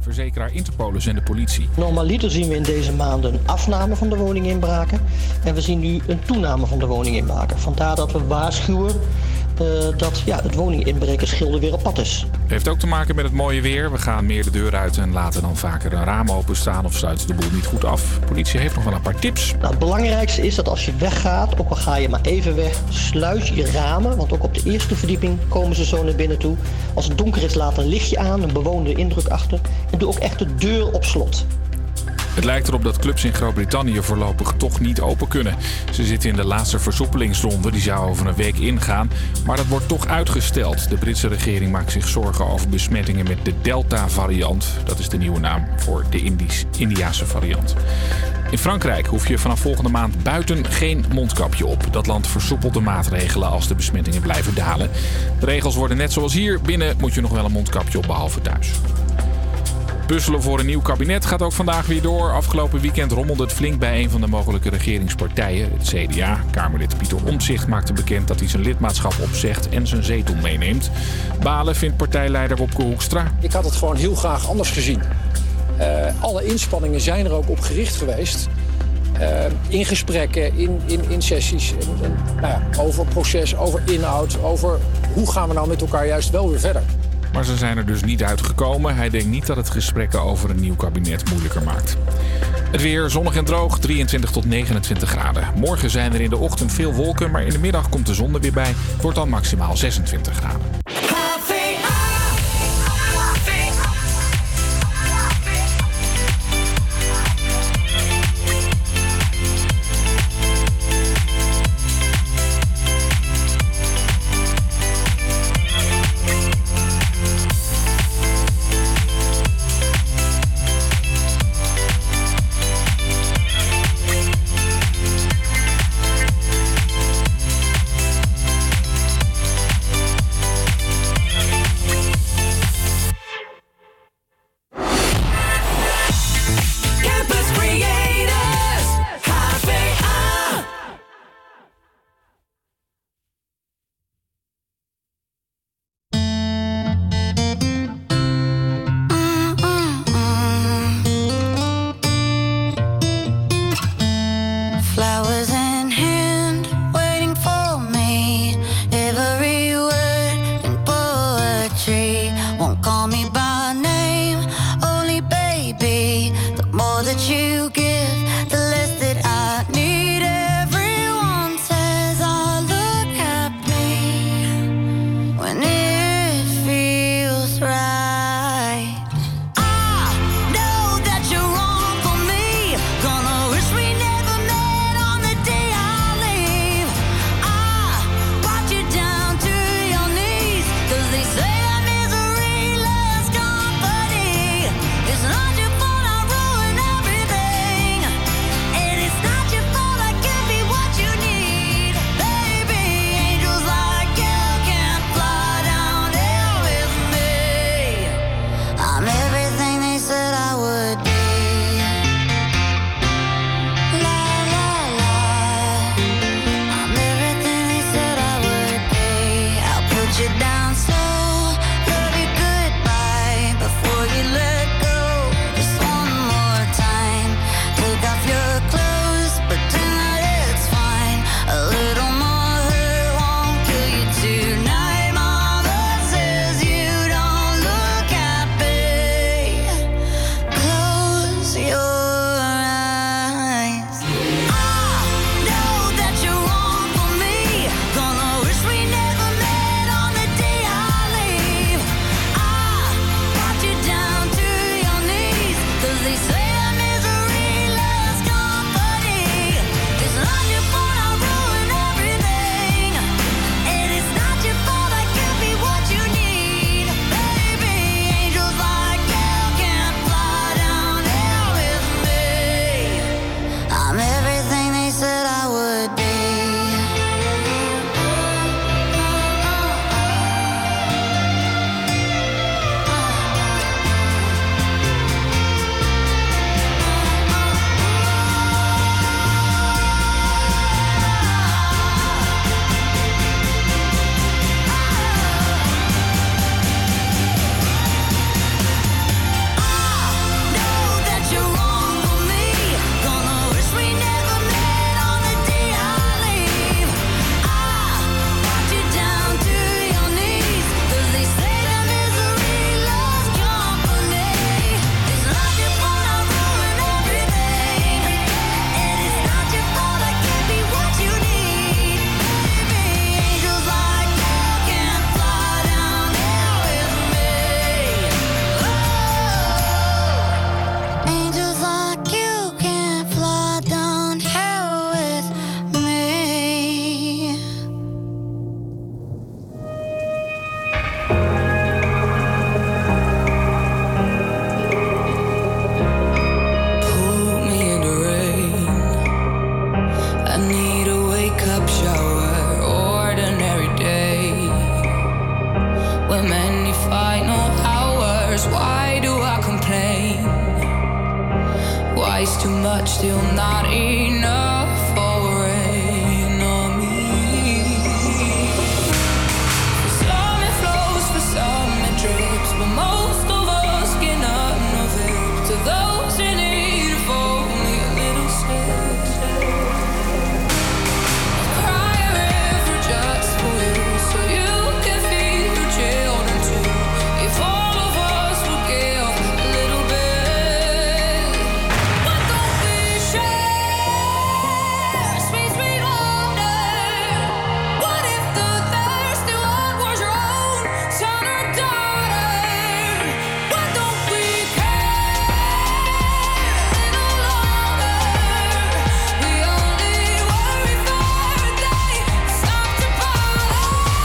verzekeraar Interpolis en de politie. Normaliter zien we in deze maanden een afname van de woninginbraken. En we zien nu een toename van de woninginbraken. Vandaar dat we waarschuwen dat het woninginbrekersgilde weer op pad is. Heeft ook te maken met het mooie weer. We gaan meer de deur uit en laten dan vaker een raam openstaan of sluiten de boel niet goed af. De politie heeft nog wel een paar tips. Nou, het belangrijkste is dat als je weggaat, ook al ga je maar even weg, sluit je ramen. Want ook op de eerste verdieping komen ze zo naar binnen toe. Als het donker is, laat een lichtje aan, een bewoonde indruk achter. En doe ook echt de deur op slot. Het lijkt erop dat clubs in Groot-Brittannië voorlopig toch niet open kunnen. Ze zitten in de laatste versoepelingsronde, die zou over een week ingaan. Maar dat wordt toch uitgesteld. De Britse regering maakt zich zorgen over besmettingen met de Delta-variant. Dat is de nieuwe naam voor de Indiase variant. In Frankrijk hoef je vanaf volgende maand buiten geen mondkapje op. Dat land versoepelt de maatregelen als de besmettingen blijven dalen. De regels worden net zoals hier. Binnen moet je nog wel een mondkapje op, behalve thuis. Puzzelen voor een nieuw kabinet gaat ook vandaag weer door. Afgelopen weekend rommelde het flink bij een van de mogelijke regeringspartijen, het CDA. Kamerlid Pieter Omtzigt maakte bekend dat hij zijn lidmaatschap opzegt en zijn zetel meeneemt. Balen vindt partijleider Wopke Hoekstra. Ik had het gewoon heel graag anders gezien. Alle inspanningen zijn er ook op gericht geweest. In gesprekken, in sessies, over proces, over inhoud, over hoe gaan we nou met elkaar juist wel weer verder. Maar ze zijn er dus niet uitgekomen. Hij denkt niet dat het gesprekken over een nieuw kabinet moeilijker maakt. Het weer zonnig en droog, 23 tot 29 graden. Morgen zijn er in de ochtend veel wolken, maar in de middag komt de zon er weer bij. Het wordt dan maximaal 26 graden. twice too much, still not enough for rain on me. For some it flows, for some it drips, but most of us get none of it. To those in need of only a little sip, I'll cry a river just for you, so you can feed your children too. If all of us would give a little bit, why don't we share sweet, sweet wonder? What if the thirsty one was your own son or daughter? Why don't we care a little longer? We only worry for a day, stop to bother.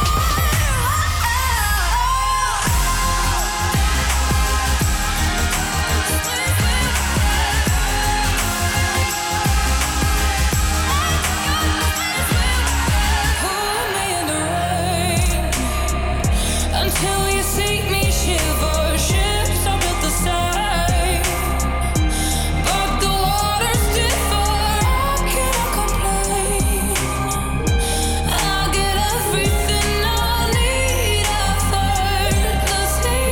Hold me in the rain until you see me shiver. Ships are built the same, but the waters differ. How can I complain? I get everything I need effortlessly.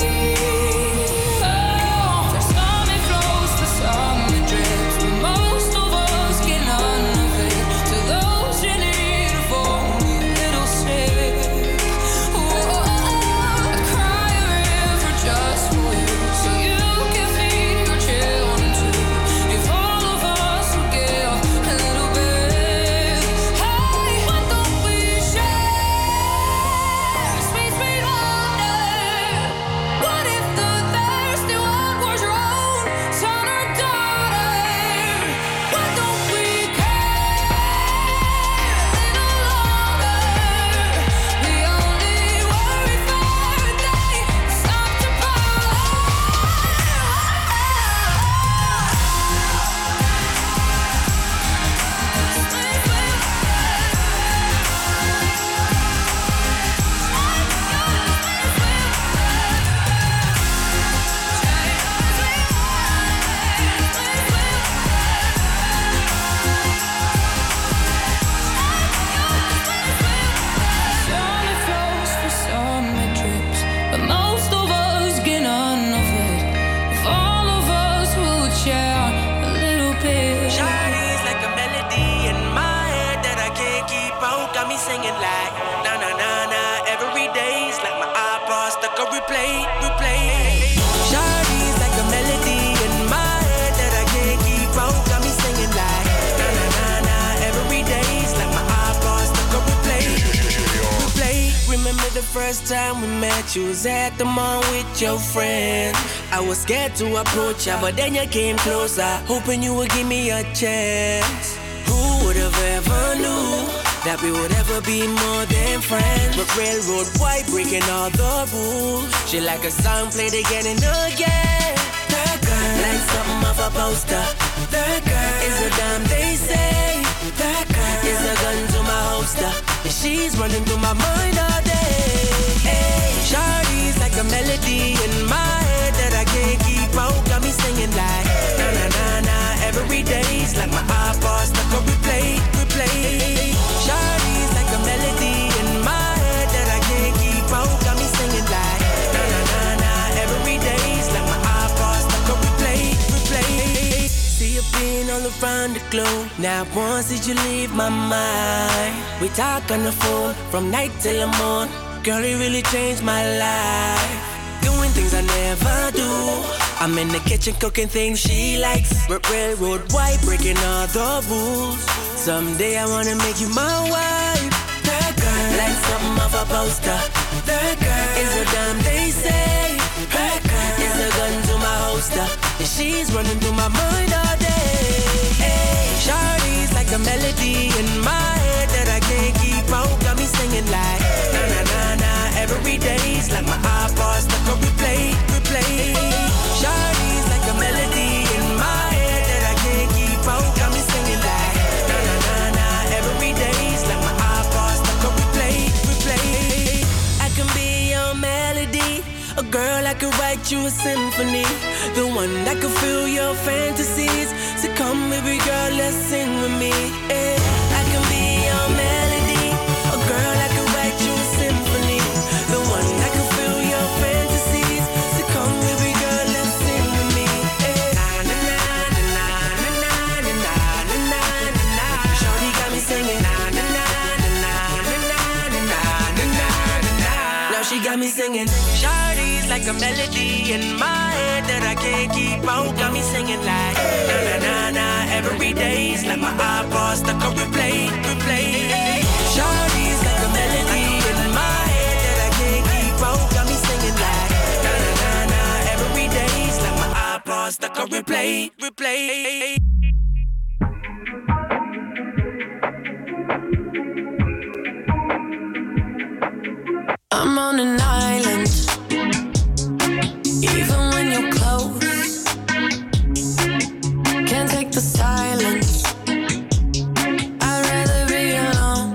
For some it flows, for some it drips, but most of us get none of it. To those in need of only a little sip, I cry a river just for you, so you can feed your children too. If all of us would give a little bit, hey, why don't we share sweet, sweet wonder? What if the thirsty one was your own son or daughter? Why don't we care a little longer? We only worry for a day, stop to bother. Some it flows, for some it drips, but most of us get none of it. If all of us would share a little bit. Shawty's like a melody in my head that I can't keep out. Got me singing like na na na na every day's like my iPod stuck on replay, replay. Shawty's like a melody in my head that I can't keep out. Got me singing like na na na na every day's like my iPod stuck on replay, replay. Remember the first time we met? You was at the mall with your friend. I was scared to approach ya, but then you came closer, hoping you would give me a chance. Who would have ever knew that we would ever be more than friends? But railroad white breaking all the rules. She like a song played again and again. That girl like something off a poster. That girl is a dime they say. That girl is a gun to my holster, and she's running through my mind all day. Hey, Shawty's like a melody in my head that I can't keep out. Got me singing like na na na na every day's like my iPod stuck on replay, replay. Shawty's like a melody in my head that I can't keep out. Got me singing like na na na na every day's like my iPod stuck on replay, replay. See you being all around the globe. Now once did you leave my mind? We talk on the phone from night till the morn. Girl, it really changed my life. Doing things I never do. I'm in the kitchen cooking things she likes. Railroad white breaking all the rules. Someday I wanna make you my wife. That girl like something off a poster. That girl is a dime they say. That girl is a gun to my holster, and she's running through my mind all day. Hey, Shawty's like a melody in my head that I can't keep out. Got me singing like na na na na every day's like my iPod stuck on replay, replay. Shawty's like a melody in my head that I can't keep out. Got me singing like na na na na every day's like my iPod stuck on replay, replay. I can be your melody, a girl I could write you a symphony, the one that could fill your fantasies. with me. Yeah. I can be your melody, a girl that can write you a symphony, the one that can fill your fantasies. So come, baby girl, let's sing with me. Yeah. Na na na na na na na na na na na. Shorty got me singing. Na na na na na na na na na na na. Now she got me singing. Shorty's like a melody in my head that I can't keep out. Got me singing like na na na na every day's like my iPod stuck on replay, replay. Shorty's like a melody in my head that I can't keep out. Got me singing like na na na na every day's like my iPod stuck on replay, replay. I'm on an island, even when you're close. Can't take the silence. I'd rather be alone.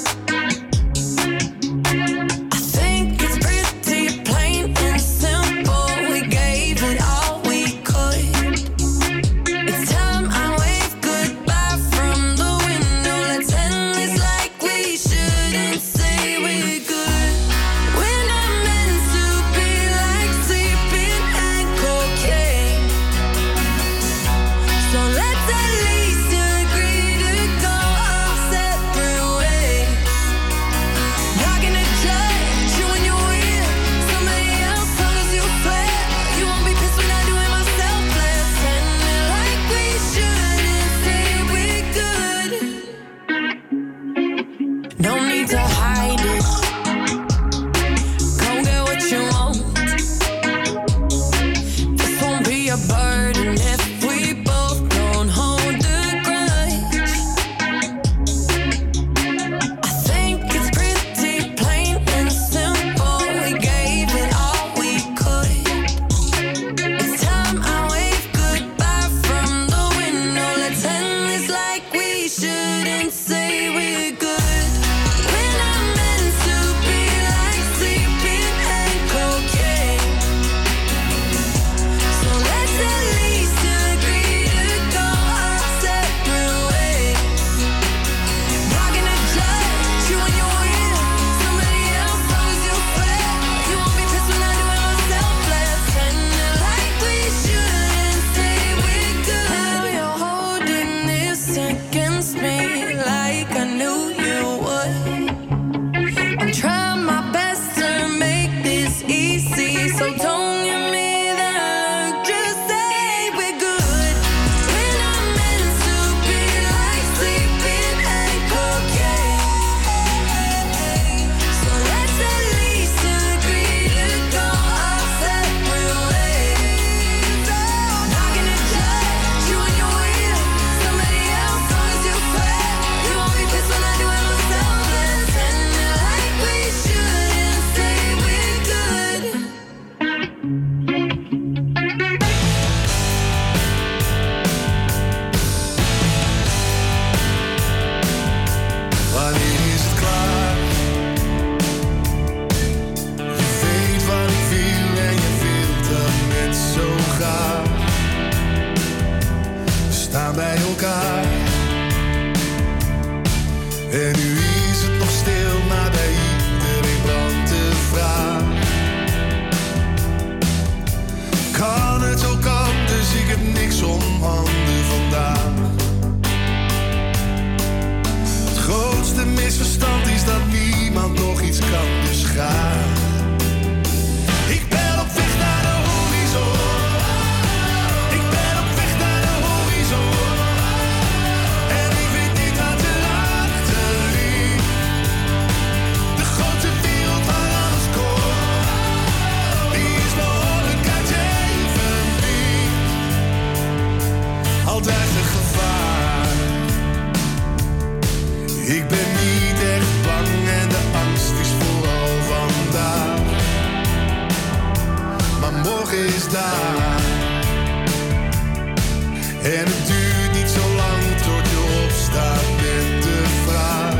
I think it's pretty plain and simple. We gave it all we could. It's time I wave goodbye from the window. Let's end this like we shouldn't say we're good. We're not meant to be like sleeping and cocaine. So let's at least agree to go our separate ways. Not gonna judge you when you're with somebody else, long as you swear you won't be pissed when I do it myself. Let's end it like we shouldn't say we're good. No need to hide it. Go get what you want. This won't be a burden if we both don't hold the grudge. I think it's pretty plain and simple. We gave it all we could. It's time I wave goodbye from the window. Let's end this like we shouldn't say we're good. We're not meant to be like sleeping and cocaine. So let's at least agree to go our separate ways. Not gonna judge you when you're with somebody else, long as you swear you won't be pissed when I do it myself. Let's end it like we shouldn't say we're good. Now you're holding this against me like I knew you would. I'm trying my best to make this easy, so don't give me that look. Just say we're good. We're not meant to be like sleeping and cocaine. So let's at least agree to go our separate ways. Not gonna judge you when you're with somebody else, long as you swear you won't be pissed when I do it myself. Let's end it like we shouldn't say we're good. Wanneer is het klaar? Je weet wat ik wil en je wilt dat net zo graag. We staan bij elkaar. En nu is het nog stil, maar bij iedereen brandt de vraag. Kan het ook anders? Ik heb niks om handen vandaag. Het grootste misverstand is dat niemand nog iets kan, dus ga. Ik ben op weg naar de horizon. Ik ben op weg naar de horizon. En ik weet niet wat er achter ligt. De grote wereld waar alles komt, die is behoorlijk uit je evenwicht. Altijd een gevaar. Ik ben niet echt bang en de angst is vooral vandaag. Maar morgen is daar. En het duurt niet zo lang tot je opstaat met de vraag.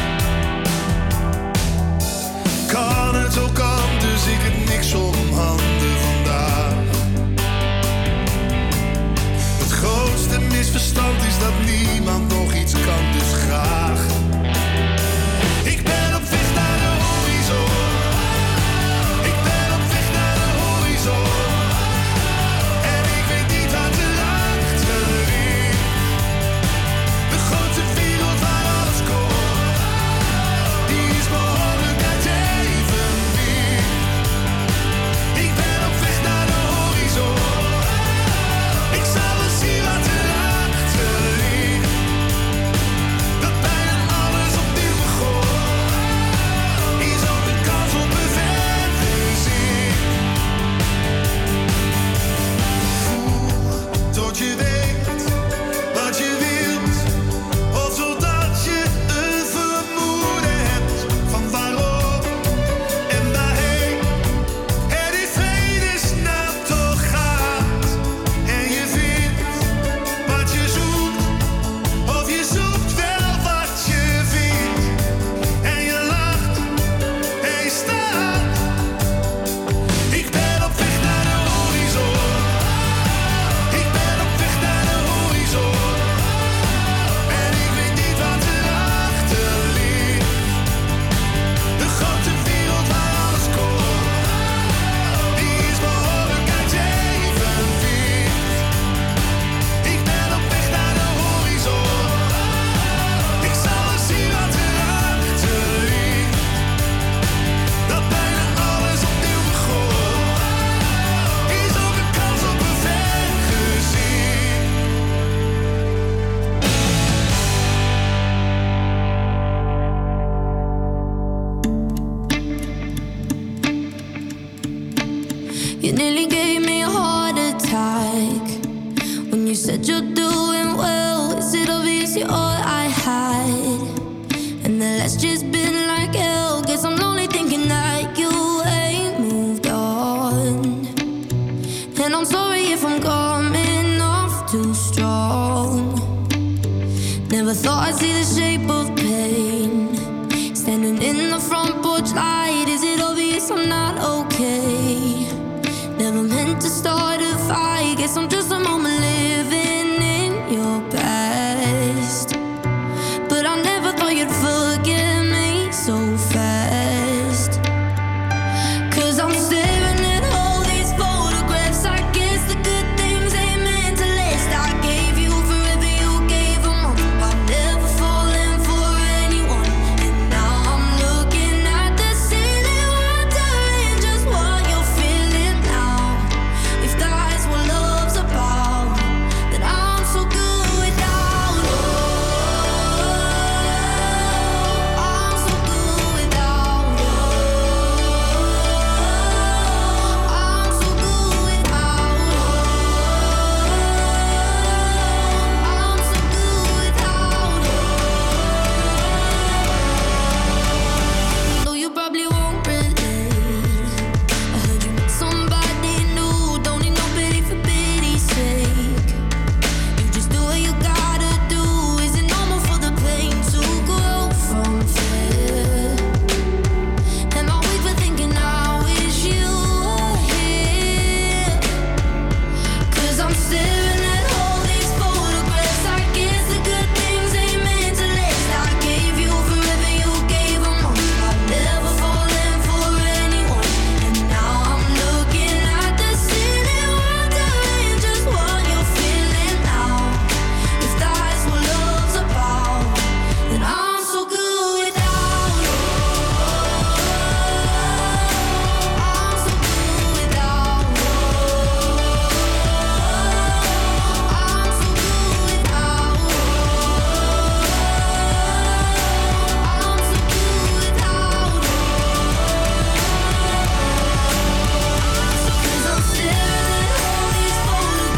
Kan het ook anders? Ik heb niks om handen vandaag. Het grootste grootste misverstand is dat niemand nog iets kan, dus graag. Ik ben op weg naar de horizon. Ik ben op weg naar de horizon. En ik weet niet wat er achter ligt. De grote wereld waar alles komt, die is behoorlijk uit evenwicht. Ik ben op weg naar de horizon. Ik zal wel zien wat er achter ligt. Dat bijna alles opnieuw begon, is ook een kans op een vergezing. Voel tot je weet wat je wilt, of zodat je een vermoeden hebt van waarom en waarheen. En in vredesnaam toch gaat en je vindt wat je zoekt, of je zoekt wel wat je vindt. En je lacht en je staat. Ik ben op weg naar de horizon. Ik ben op weg naar de horizon. En ik weet niet wat er achter ligt. De grote wereld waar alles komt, die is behoorlijk uit evenwicht. Ik ben op weg naar de horizon. Ik zal wel zien wat er achter ligt. Dat bijna alles opnieuw begon, is ook een kans op een vergezing. You nearly gave me a heart attack when you said you're doing well. Is it obvious you're all I had? And the last just been like hell. Guess I'm lonely thinking that you ain't moved on. And I'm sorry if I'm coming off too strong. Never thought I'd see the shape of pain standing in the front porch light. Is it obvious I'm not okay? Never meant to start a fight. Guess I'm just